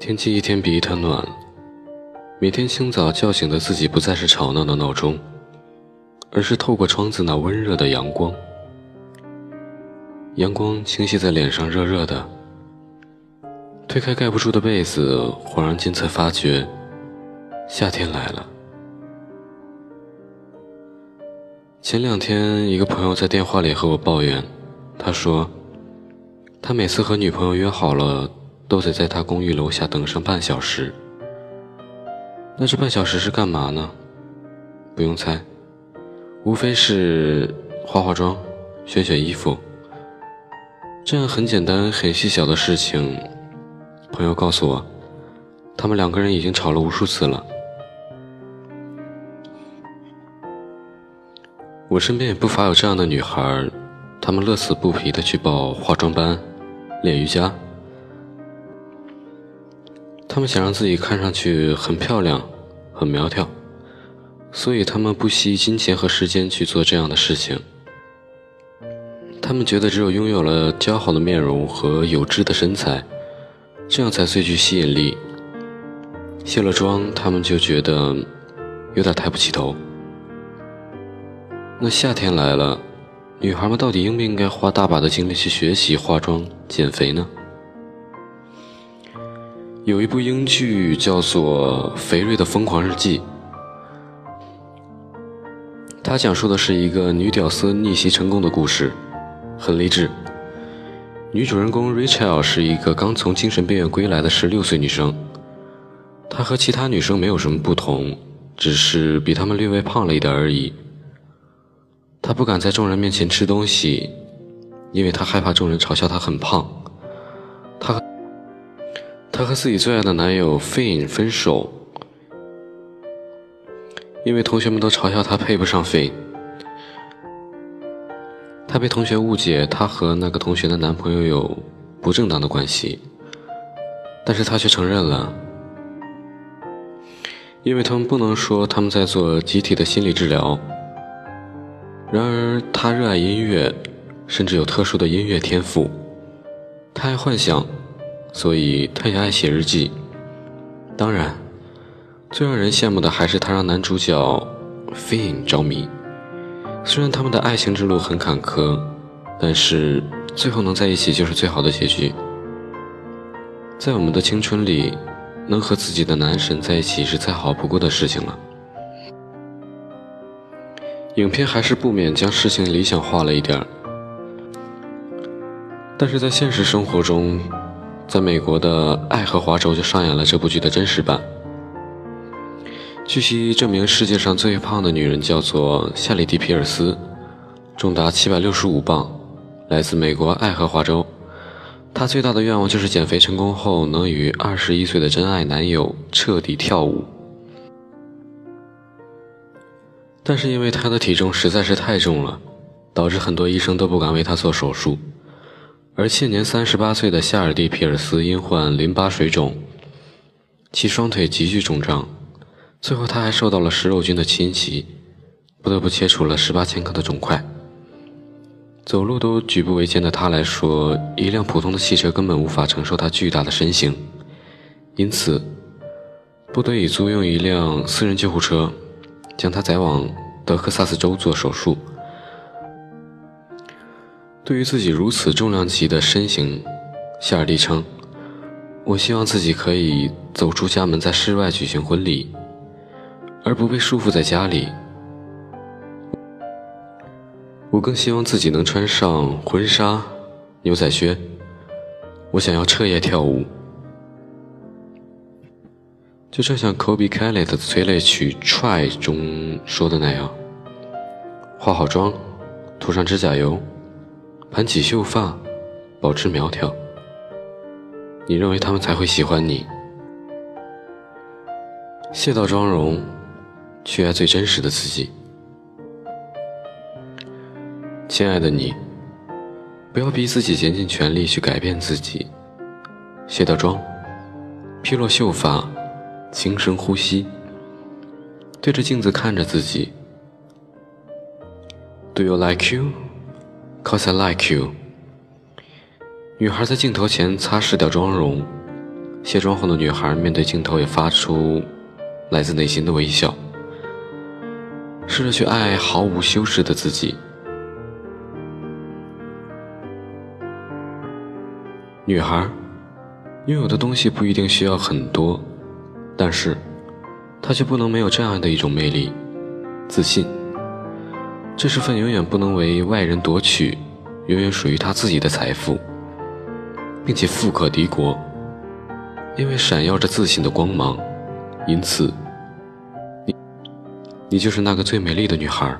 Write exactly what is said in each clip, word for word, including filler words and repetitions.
天气一天比一天暖，每天清早叫醒的自己不再是吵闹的闹钟，而是透过窗子那温热的阳光。阳光倾泻在脸上，热热的。推开盖不住的被子，恍然间才发觉，夏天来了。前两天，一个朋友在电话里和我抱怨，他说，他每次和女朋友约好了，都得在他公寓楼下等上半小时。那这半小时是干嘛呢？不用猜，无非是化化妆、选选衣服。这样很简单、很细小的事情，朋友告诉我，他们两个人已经吵了无数次了。我身边也不乏有这样的女孩，她们乐此不疲地去报化妆班、练瑜伽。她们想让自己看上去很漂亮、很苗条，所以她们不惜金钱和时间去做这样的事情。她们觉得只有拥有了姣好的面容和有致的身材，这样才最具吸引力。卸了妆，她们就觉得有点抬不起头。那夏天来了，女孩们到底应不应该花大把的精力去学习化妆、减肥呢？有一部英剧叫做《肥瑞的疯狂日记》，它讲述的是一个女屌丝逆袭成功的故事，很励志。女主人公 Rachel 是一个刚从精神病院归来的十六岁女生，她和其他女生没有什么不同，只是比她们略微胖了一点而已。她不敢在众人面前吃东西，因为她害怕众人嘲笑她很胖。她和她和自己最爱的男友 Finn 分手，因为同学们都嘲笑她配不上 Finn。她被同学误解她和那个同学的男朋友有不正当的关系，但是她却承认了，因为他们不能说他们在做集体的心理治疗。然而她热爱音乐，甚至有特殊的音乐天赋。她爱幻想，所以她也爱写日记。当然，最让人羡慕的还是她让男主角 Finn 着迷。虽然他们的爱情之路很坎坷，但是最后能在一起就是最好的结局。在我们的青春里，能和自己的男神在一起是再好不过的事情了。影片还是不免将事情理想化了一点，但是在现实生活中，在美国的爱荷华州就上演了这部剧的真实版。据悉，这名世界上最胖的女人叫做夏利蒂·皮尔斯，重达七百六十五磅，来自美国爱荷华州。她最大的愿望就是减肥成功后能与二十一岁的真爱男友彻底跳舞。但是因为她的体重实在是太重了，导致很多医生都不敢为她做手术。而现年三十八岁的夏尔蒂·皮尔斯因患淋巴水肿，其双腿急剧肿胀，最后她还受到了食肉菌的侵袭，不得不切除了十八千克的肿块。走路都举步维艰的她来说，一辆普通的汽车根本无法承受她巨大的身形，因此不得已租用一辆私人救护车，将她载往德克萨斯州做手术。对于自己如此重量级的身形，夏尔蒂称，我希望自己可以走出家门，在室外举行婚礼，而不被束缚在家里。我更希望自己能穿上婚纱、牛仔靴，我想要彻夜跳舞。就正像 Kobe Kelly 的催泪曲 Try 中说的那样，化好妆，涂上指甲油，盘起秀发，保持苗条，你认为他们才会喜欢你。卸掉妆容，去爱最真实的自己。亲爱的你，不要逼自己竭尽全力去改变自己。卸掉妆，披落秀发，轻声呼吸，对着镜子看着自己。Do you like you? Cause I like you. 女孩在镜头前擦拭掉妆容， 卸妆后的女孩面对镜头也发出来自内心的微笑，试着去爱毫无修饰的自己。女孩拥有的东西不一定需要很多，但是她却不能没有这样的一种魅力，自信。这是份永远不能为外人夺取，永远属于她自己的财富，并且富可敌国。因为闪耀着自信的光芒，因此你你就是那个最美丽的女孩。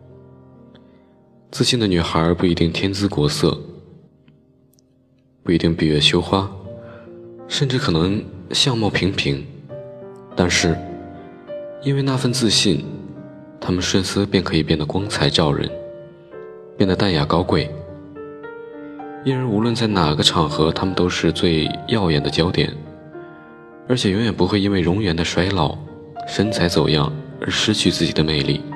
自信的女孩不一定天姿国色，不一定闭月羞花，甚至可能相貌平平，但是因为那份自信，她们瞬丝便可以变得光彩照人，变得淡雅高贵。因而无论在哪个场合，她们都是最耀眼的焦点，而且永远不会因为容颜的衰老、身材走样而失去自己的魅力。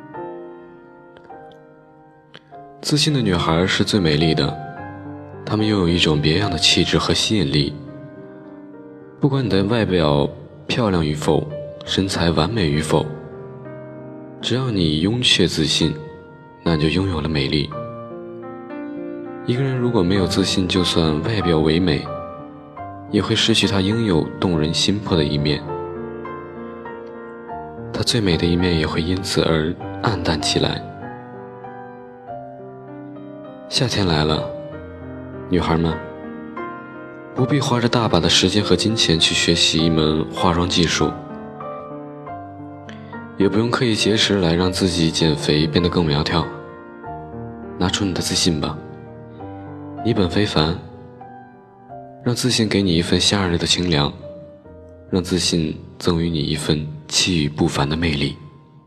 自信的女孩是最美丽的，她们拥有一种别样的气质和吸引力。不管你的外表漂亮与否，身材完美与否，只要你拥却自信，那你就拥有了美丽。一个人如果没有自信，就算外表唯美，也会失去他应有动人心魄的一面，他最美的一面也会因此而暗淡起来。夏天来了，女孩们不必花着大把的时间和金钱去学习一门化妆技术，也不用刻意节食来让自己减肥变得更苗条。拿出你的自信吧，你本非凡，让自信给你一份夏日的清凉，让自信赠予你一份气宇不凡的魅力。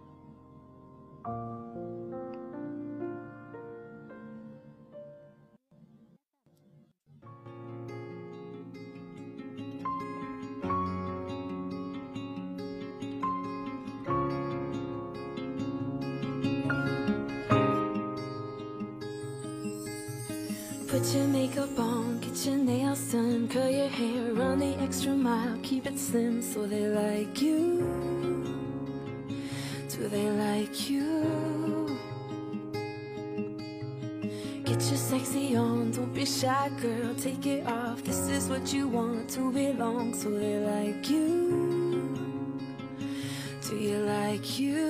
Put your makeup on, get your nails done, curl your hair, run the extra mile, keep it slim so they like you. Do they like you? Get your sexy on, don't be shy girl, take it off. This is what you want, to belong, so they like you. Do you like you?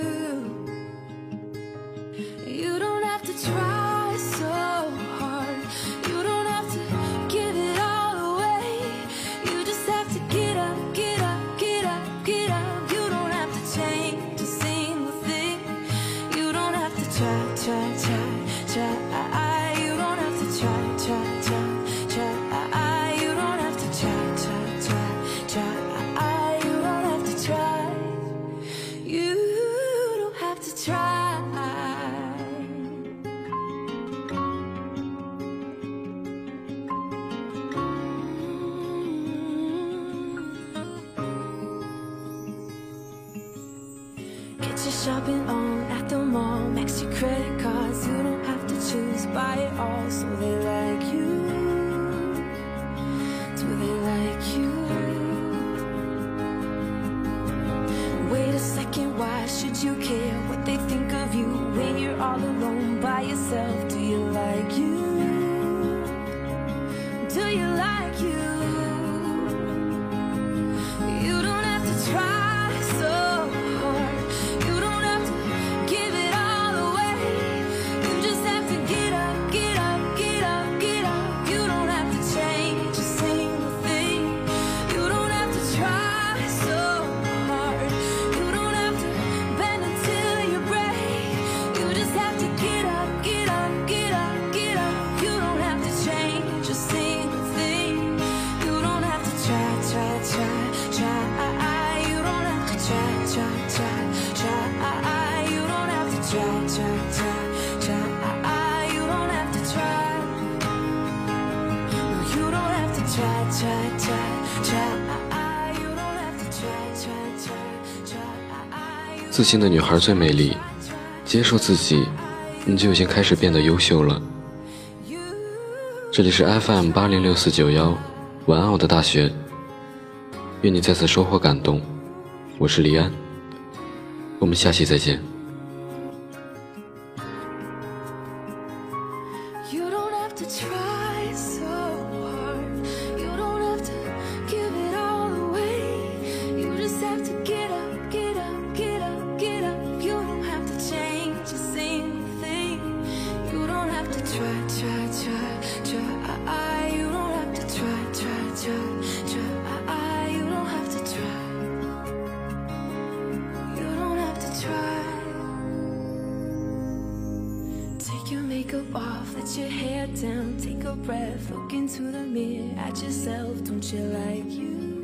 You don't have to try so hard, you don't have to give it all away. You just have to get up, get up, get up, get up. You don't have to change a single thing. You don't have to try, try, try, try. You don't have to try, try, try, try. You don't have to try, try, try, try. You don't have to try. You don't have to try. Get your shopping on at the mall, max your credit cards. You don't have to choose, buy it all, so they like you. Do they like you? Wait a second, why should you care what they think of you when you're all alone by yourself? Do you like you? Do you like you? You don't have to try so hard, you don't have to give it all away. You just have to get up, get up, get up, get up. You don't have to change a single thing. You don't have to try so hard, you don't have to bend until you break. You just have to get up, get up, get up, get up. You don't have to change a single thing. You don't have to try, try, try, try. You don't have to try, try, try, try. You don't have to try, try, try, try. You don't have to try. No, you don't have to try, try, try, try. You don't have to try, try, try, try. 自信的女孩最美丽，接受自己，你就已经开始变得优秀了。这里是 F M 八零六四九幺，晚安我的大学， 愿你再次收获感动。我是黎安，我们下期再见。 You don't have to try so hard. You don't have to give it all away. You just have to get up, get up, get up, get up. You don't have to change a single thing. You don't have to try, try, try, try. You don't have to try, try, try, try. You don't have to try. You don't have to try. Take your makeup off, let your hair down, take a breath, look into the mirror at yourself. Don't you like you?